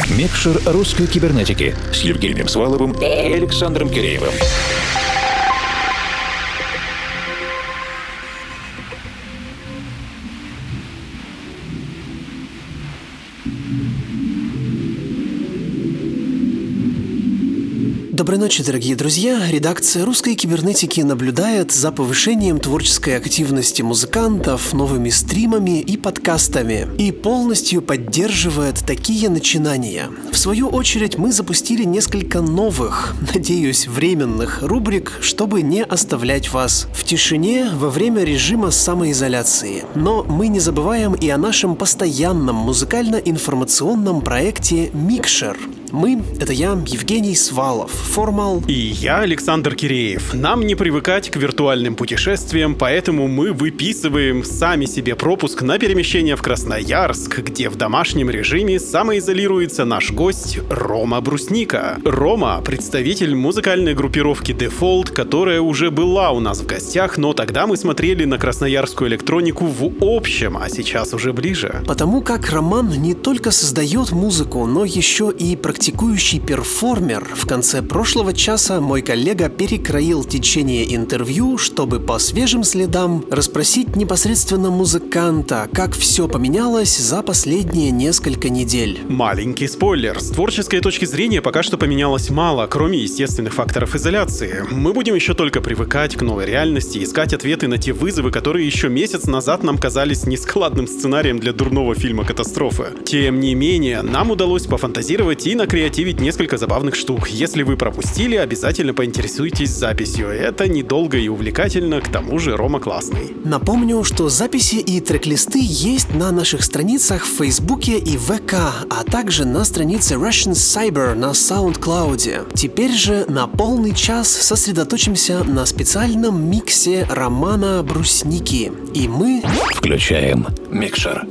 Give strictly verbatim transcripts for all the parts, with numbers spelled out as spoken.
Микшер русской кибернетики с Евгением Сваловым и Александром Киреевым. Доброй ночи, дорогие друзья. Редакция «Русской кибернетики» наблюдает за повышением творческой активности музыкантов, новыми стримами и подкастами и полностью поддерживает такие начинания. В свою очередь мы запустили несколько новых, надеюсь, временных рубрик, чтобы не оставлять вас в тишине во время режима самоизоляции. Но мы не забываем и о нашем постоянном музыкально-информационном проекте «Микшер». Мы — это я, Евгений Свалов, Формал. И я, Александр Киреев. Нам не привыкать к виртуальным путешествиям, поэтому мы выписываем сами себе пропуск на перемещение в Красноярск, где в домашнем режиме самоизолируется наш гость Рома Брусника. Рома — представитель музыкальной группировки Default, которая уже была у нас в гостях, но тогда мы смотрели на красноярскую электронику в общем, а сейчас уже ближе. Потому как Роман не только создает музыку, но еще и практикует Практикующий перформер. В конце прошлого часа мой коллега перекроил течение интервью, чтобы по свежим следам расспросить непосредственно музыканта, как все поменялось за последние несколько недель. Маленький спойлер. С творческой точки зрения пока что поменялось мало, кроме естественных факторов изоляции. Мы будем еще только привыкать к новой реальности, искать ответы на те вызовы, которые еще месяц назад нам казались нескладным сценарием для дурного фильма «Катастрофы». Тем не менее, нам удалось пофантазировать и на креативить несколько забавных штук. Если вы пропустили, обязательно поинтересуйтесь записью. Это недолго и увлекательно, к тому же Рома классный. Напомню, что записи и трек-листы есть на наших страницах в Фейсбуке и ВК, а также на странице Russian Cyber на SoundCloud. Теперь же на полный час сосредоточимся на специальном миксе Романа Брусники. И мы включаем микшер.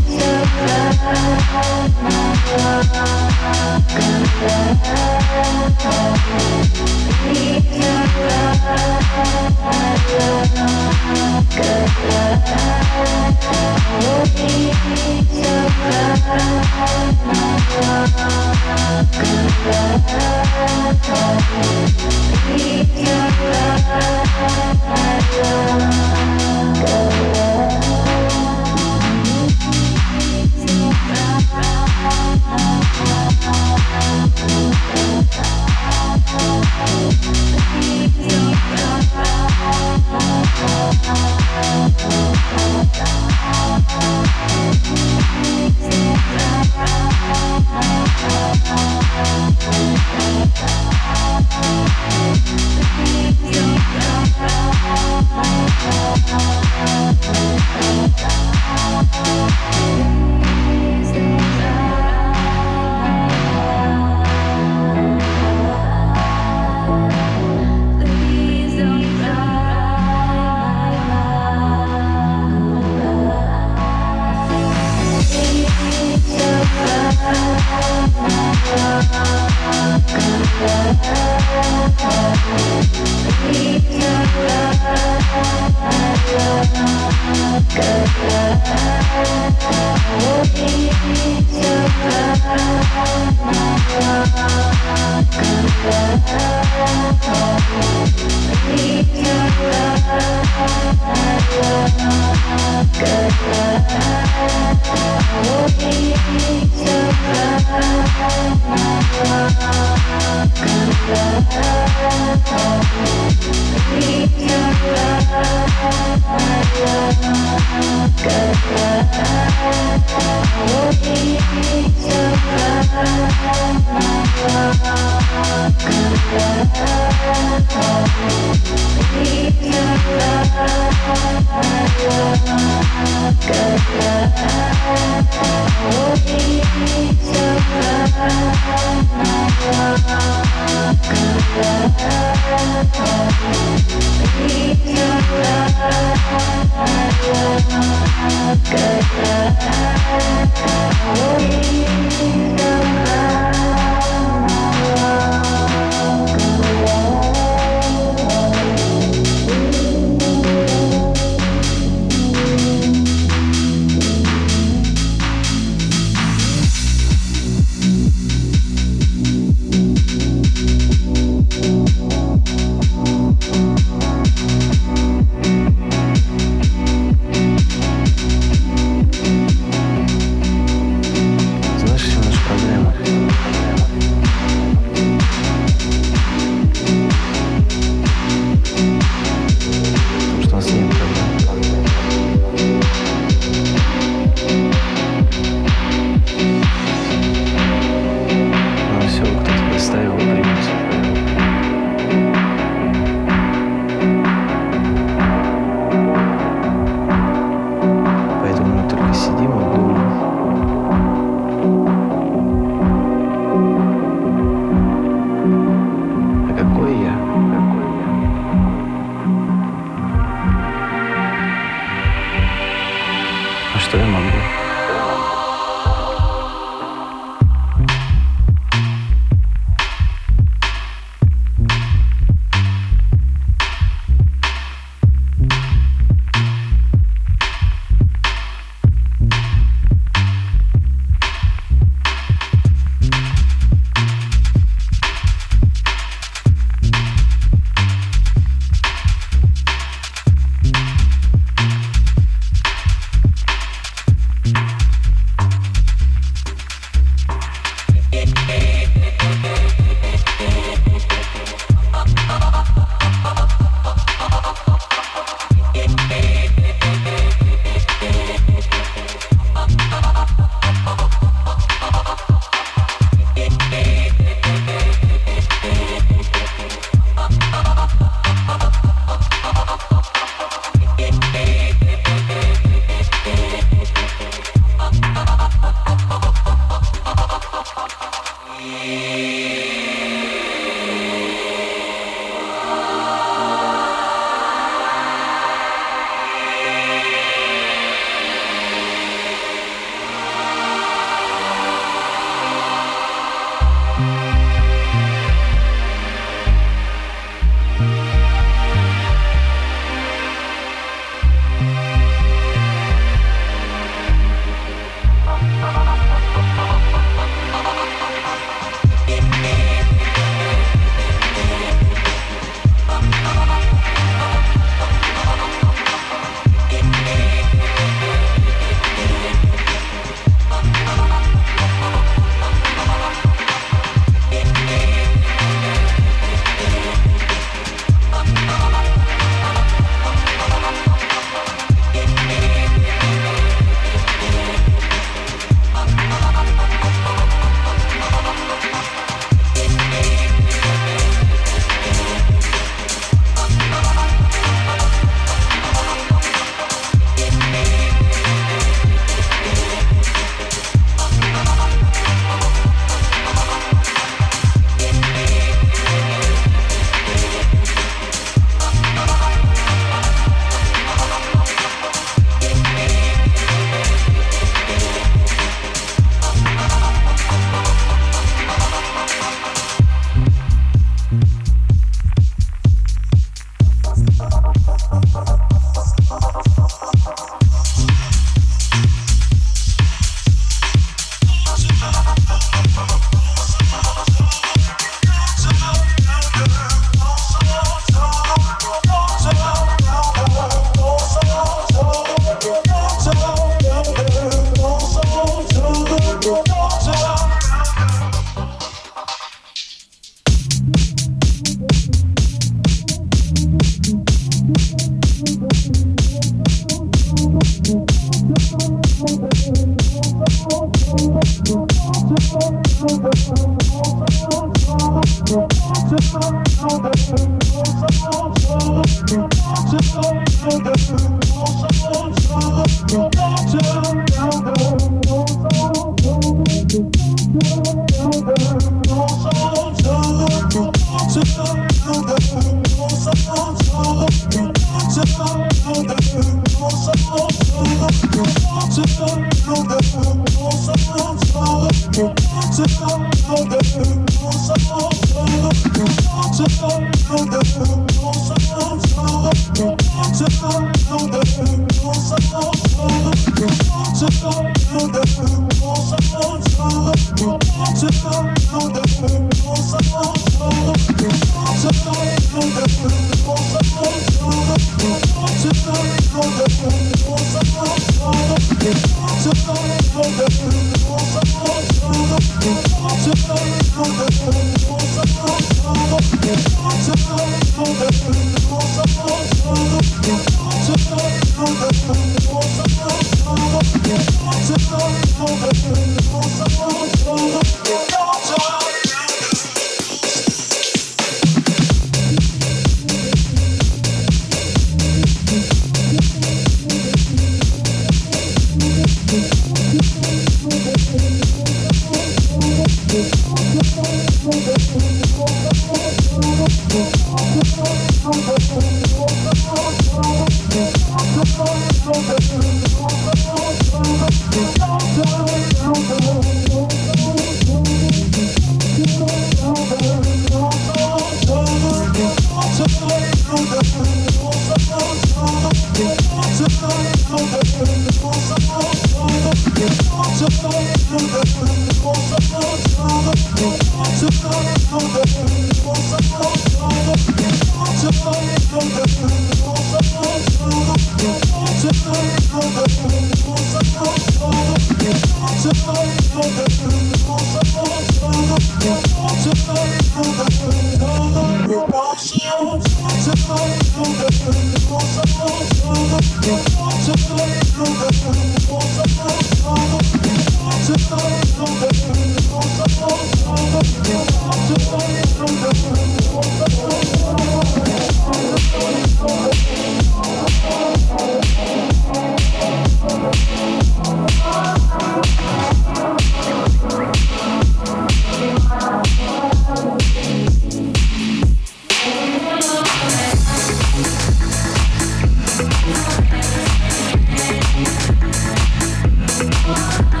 We'll be right back.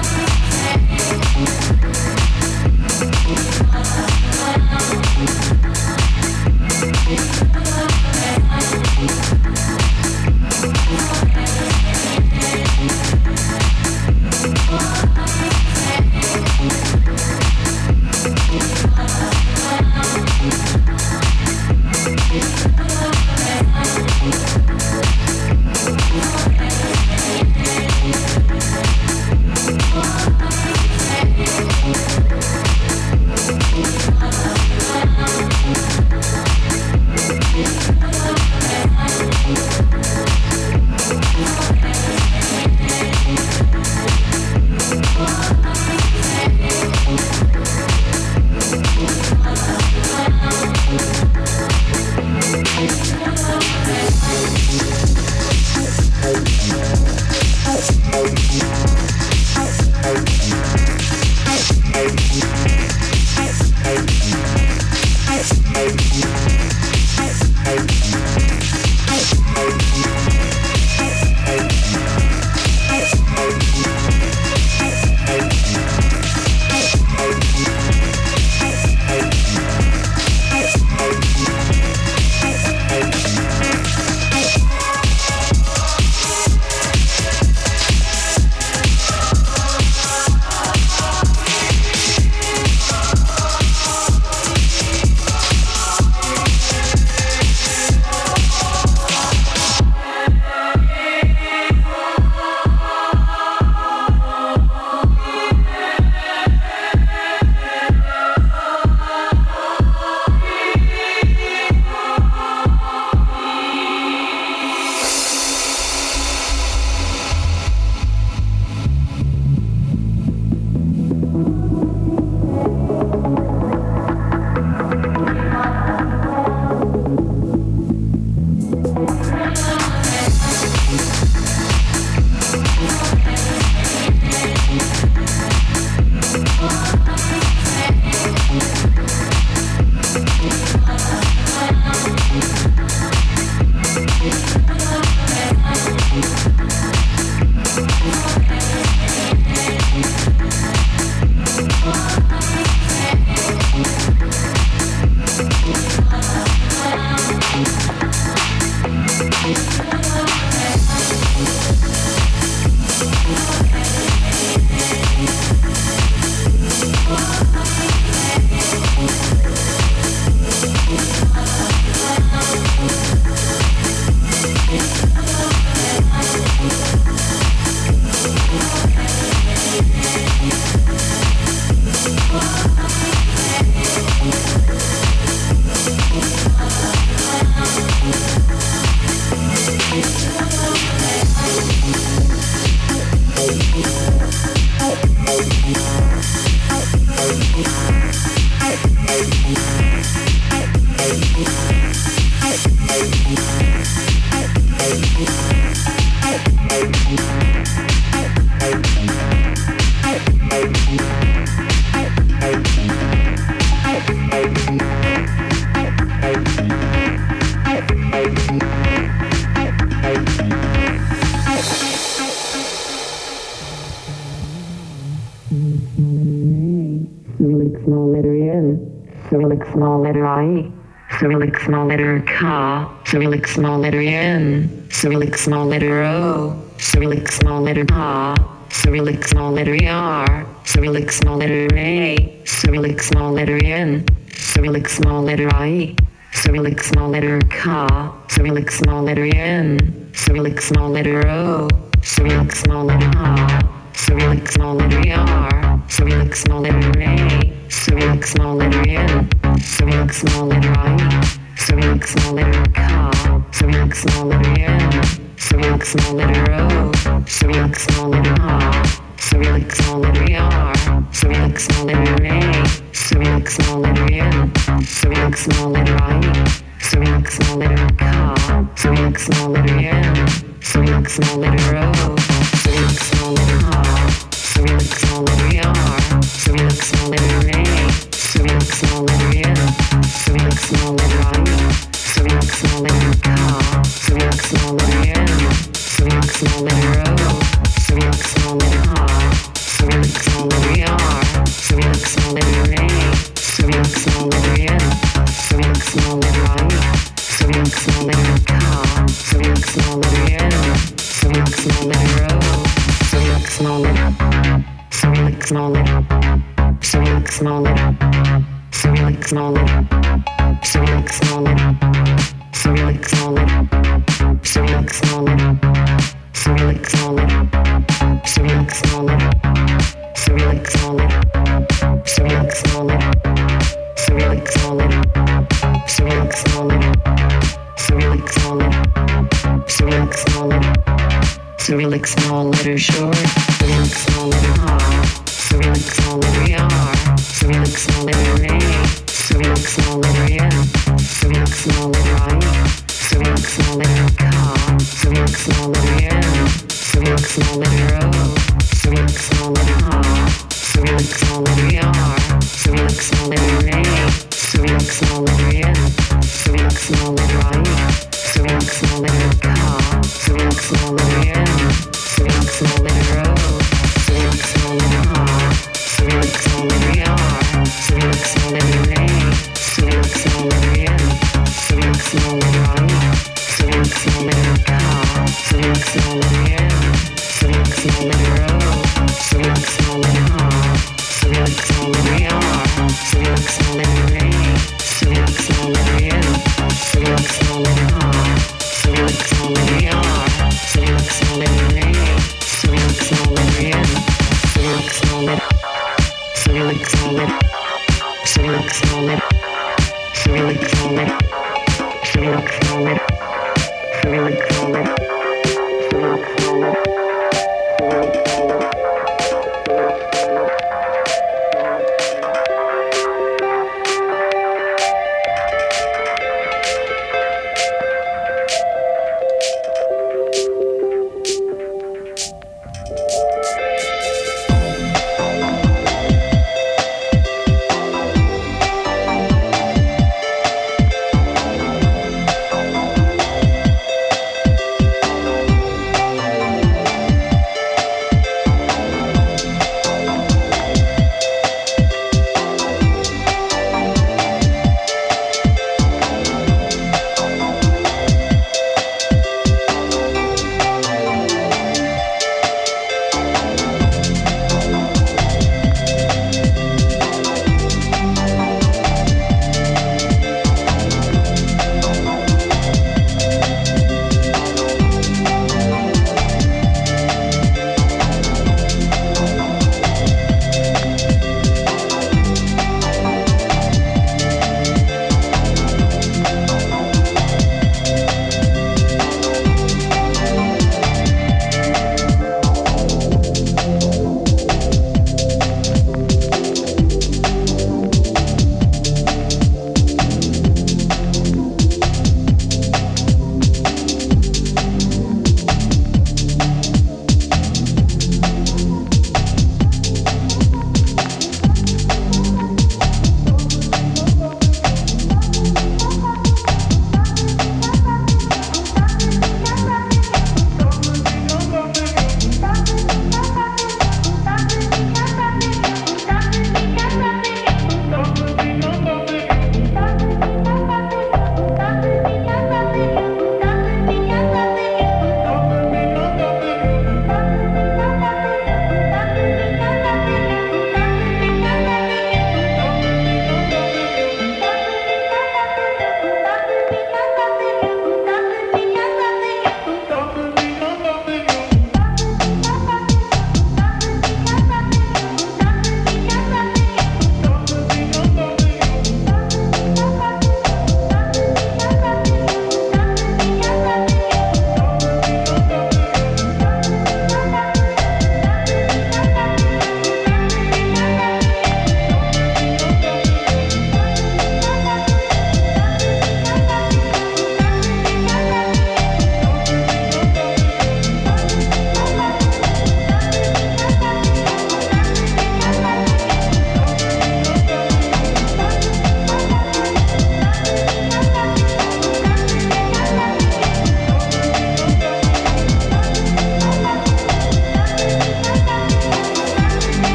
Cyrillic small letter N, Cyrillic small letter I, Cyrillic small letter K, Cyrillic small letter N, Cyrillic small letter O, Cyrillic small letter P, Cyrillic small letter R, Cyrillic small letter A, Cyrillic small letter N, Cyrillic small letter I, Cyrillic small letter K, Cyrillic small letter N, Cyrillic small letter O, Cyrillic small letter P, Cyrillic small letter R, Cyrillic small letter A, Cyrillic small letter N, Cyrillic small letter I, Cyrillic small letter K, Cyrillic small letter N, Cyrillic small letter O, Cyrillic small letter P, Cyrillic small letter R, Cyrillic small letter A, Cyrillic small letter N, Cyrillic small letter I, Cyrillic small letter K, Cyrillic small letter N, Cyrillic small letter O, Cyrillic small letter P, Cyrillic small letter R, Cyrillic small letter A, Cyrillic small letter N, Cyrillic small letter I, Cyrillic small letter K, Cyrillic small letter N, Cyrillic small letter O, Cyrillic small letter P, Cyrillic small letter R, Cyrillic small letter A, Cyrillic small letter N, Cyrillic small letter I, Cyrillic small letter K, Cyrillic small letter N, Cyrillic small letter O, Cyrillic small letter, Cyrillic small letter, Cyrillic small letter, Cyrillic small letter, Cyrillic small letter, Cyrillic small letter, Cyrillic small letter, Cyrillic small letter, Cyrillic small letter, Cyrillic small letter, Cyrillic small letter, Cyrillic small letter, Cyrillic small letter, Cyrillic small letter, Cyrillic small letter, Cyrillic small letter short, Cyrillic small letter R, Cyrillic small letter R, Cyrillic small letter A, Cyrillic small letter N, Cyrillic small letter I, Cyrillic small letter K, Cyrillic small letter N, Cyrillic small letter O, Cyrillic small letter P, Cyrillic small letter R, Cyrillic small letter A, Cyrillic small letter N, Cyrillic small letter I, Cyrillic small letter K, Cyrillic small letter N, Cyrillic small letter O, Cyrillic small letter P, Cyrillic small letter R, Cyrillic small letter A, Cyrillic small letter N, Cyrillic small letter I, Cyrillic small letter K, Cyrillic small letter N, Cyrillic small letter O, Cyrillic small letter P, Cyrillic small letter R, Cyrillic small letter A, Cyrillic small letter N, Cyrillic small letter P, Cyrillic small letter R, Cyrillic small letter A, Cyrillic small letter N, Cyrillic small letter, Cyrillic small letter, Cyrillic small letter, Cyrillic small letter, Cyrillic small letter, Cyrillic small letter, Cyrillic small letter, Cyrillic small letter.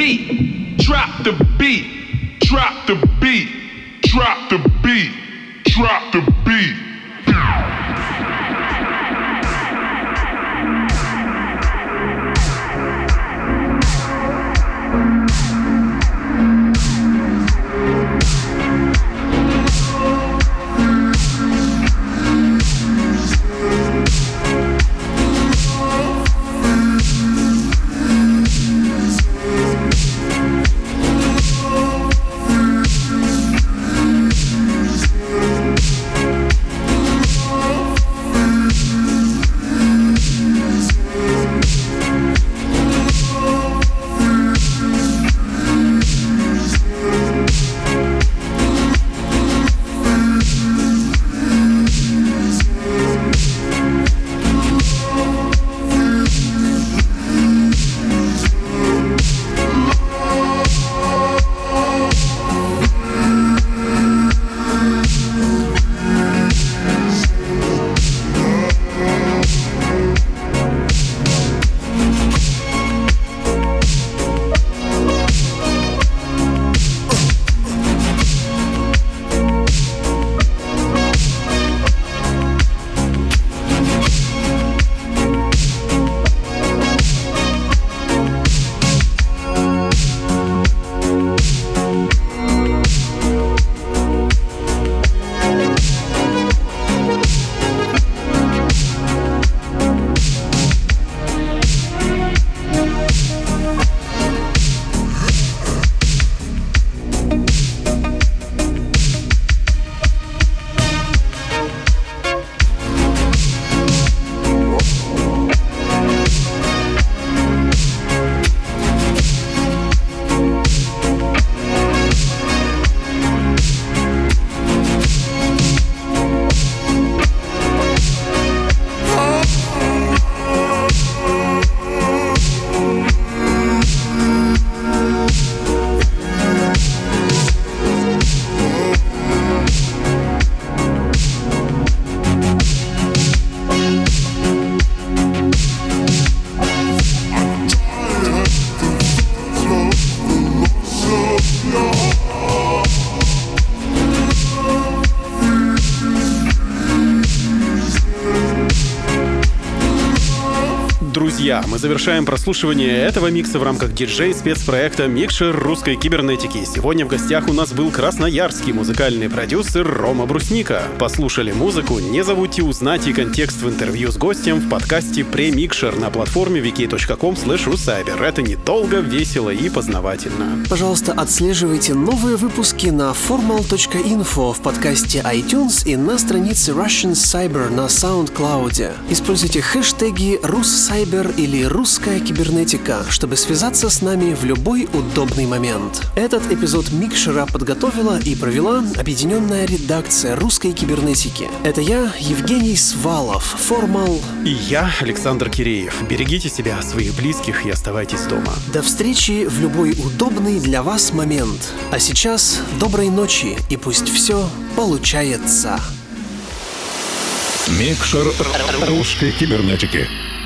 beat, drop the beat, drop the beat, drop the beat, drop the beat. Друзья, мы завершаем прослушивание этого микса в рамках диджей-спецпроекта «Микшер русской кибернетики». Сегодня в гостях у нас был красноярский музыкальный продюсер Рома Брусника. Послушали музыку? Не забудьте узнать и контекст в интервью с гостем в подкасте «Премикшер» на платформе ви кей точка ком слэш русайбер. Это недолго, весело и познавательно. Пожалуйста, отслеживайте новые выпуски на formal точка info в подкасте iTunes и на странице Russian Cyber на SoundCloud. Используйте хэштеги «Руссайбер» или «Русская кибернетика», чтобы связаться с нами в любой удобный момент. Этот эпизод Микшера подготовила и провела объединенная редакция русской кибернетики. Это я, Евгений Свалов, Формал. И я, Александр Киреев. Берегите себя, своих близких и оставайтесь дома. До встречи в любой удобный для вас момент. А сейчас доброй ночи и пусть все получается. Микшер русской кибернетики.